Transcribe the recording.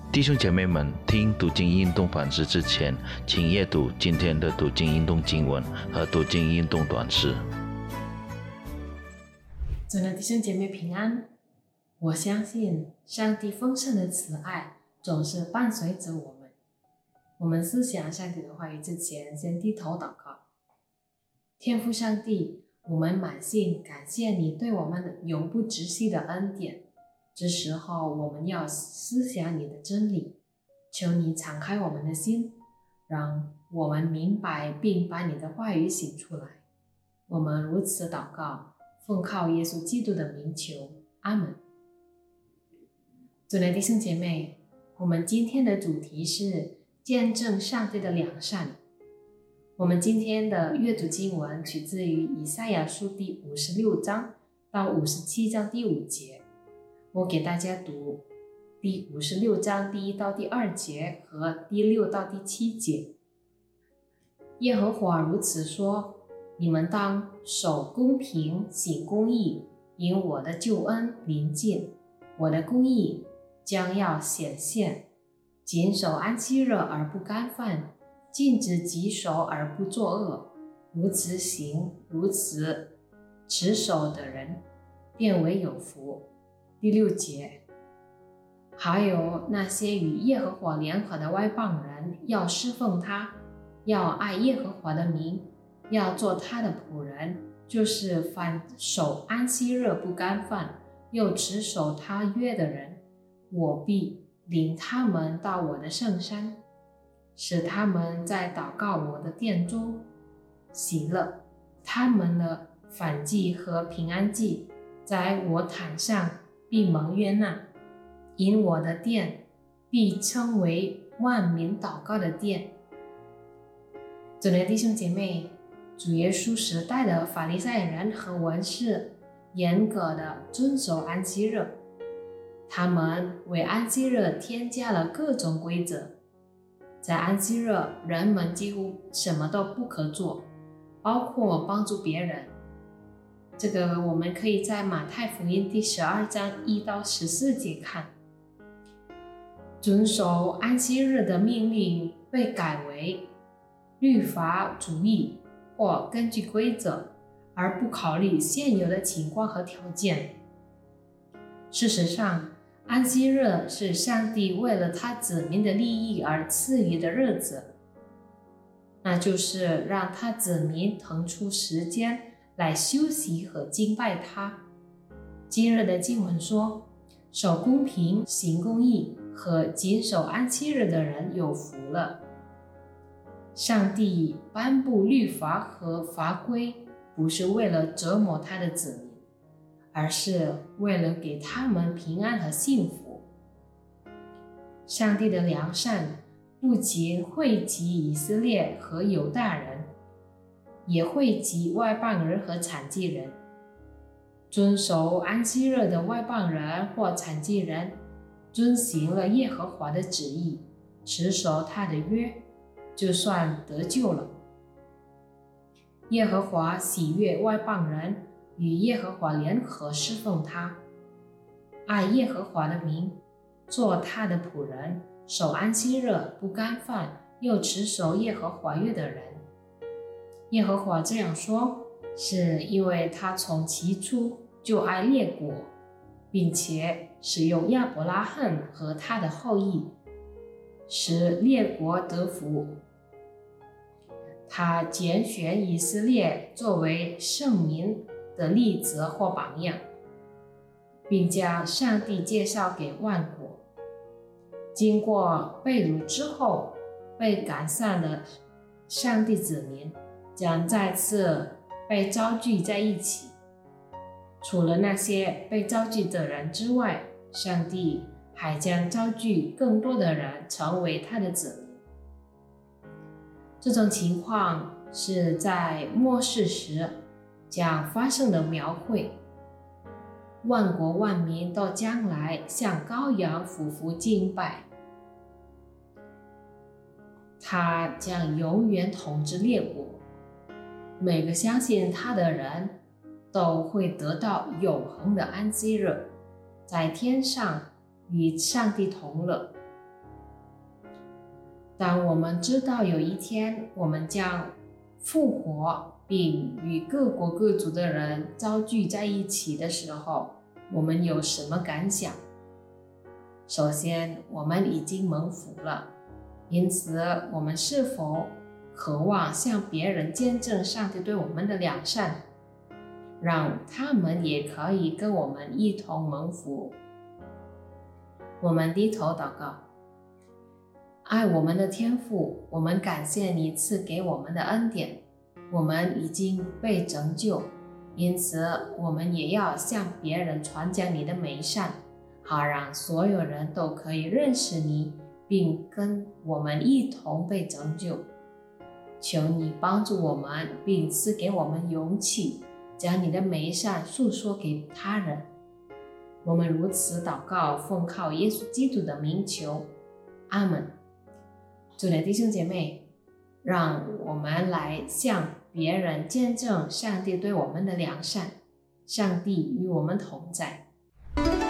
弟兄姐妹们，听读经运动反思之前，请阅读今天的读经运动经文和读经运动短诗。 主的弟兄姐妹平安，我相信上帝丰盛的慈爱总是伴随着我们。我们思想上帝的话语之前，先低头祷告。天父上帝，我们满心感谢你对我们的永不止息的恩典。这时候我们要思想你的真理，求你敞开我们的心，让我们明白并把你的话语写出来。我们如此祷告，奉靠耶稣基督的名求，阿们。主的弟兄姐妹，我们今天的主题是见证上帝的良善。我们今天的阅读经文取自于以赛亚书第56章到57章第5节。我给大家读第56章第1到第2节和第6到第7节。耶和华如此说：你们当守公平，行公义，因我的救恩临近，我的公义将要显现。谨守安息日而不干犯，禁止己手而不作恶，如此行，如此持守的人，便为有福。第6节，还有那些与耶和华联合的外邦人，要侍奉他，要爱耶和华的名，要做他的仆人，就是凡守安息日不干犯，又持守他约的人，我必领他们到我的圣山，使他们在祷告我的殿中喜乐，他们的燔祭和平安祭在我坛上必蒙悦纳，因我的殿必称为万民祷告的殿。主的弟兄姐妹，主耶稣时代的法利赛人和文士严格的遵守安息日，他们为安息日添加了各种规则。在安息日，人们几乎什么都不可做，包括帮助别人。这个我们可以在马太福音第12章1到14节看。遵守安息日的命令被改为律法主义，或根据规则而不考虑现有的情况和条件。事实上，安息日是上帝为了他子民的利益而赐予的日子，那就是让他子民腾出时间来休息和敬拜他。今日的经文说，守公平，行公义和谨守安息日的人有福了。上帝颁布律法和法规，不是为了折磨他的子民，而是为了给他们平安和幸福。上帝的良善不仅惠及以色列和犹大人，也惠及外邦人和残疾人。遵守安息日的外邦人或残疾人，遵行了耶和华的旨意，持守他的约，就算得救了。耶和华喜悦外邦人与耶和华联合侍奉他，爱耶和华的名，做他的仆人，守安息日不干犯，又持守耶和华约的人。耶和华这样说，是因为他从起初就爱列国，并且使用亚伯拉罕和他的后裔，使列国得福。他拣选以色列作为圣民的例子或榜样，并将上帝介绍给万国。经过被掳之后，被赶散的上帝子民将再次被召聚在一起。除了那些被召集的人之外，上帝还将召聚更多的人成为他的子民。这种情况是在末世时将发生的描绘。万国万民都将来向羔羊俯伏敬拜，他将永远统治列国。每个相信他的人都会得到永恒的安息日，在天上与上帝同乐。 当我们知道有一天我们将复活，并与各国各族的人遭聚在一起的时候，我们有什么感想？首先，我们已经蒙福了，因此我们是否渴望向别人见证上帝对我们的良善，让他们也可以跟我们一同蒙福？我们低头祷告。爱我们的天父，我们感谢你赐给我们的恩典，我们已经被拯救，因此我们也要向别人传讲你的美善，好让所有人都可以认识你，并跟我们一同被拯救。求你帮助我们，并赐给我们勇气，将你的美善诉说给他人。我们如此祷告，奉靠耶稣基督的名求，阿们。主的弟兄姐妹，让我们来向别人见证上帝对我们的良善，上帝与我们同在。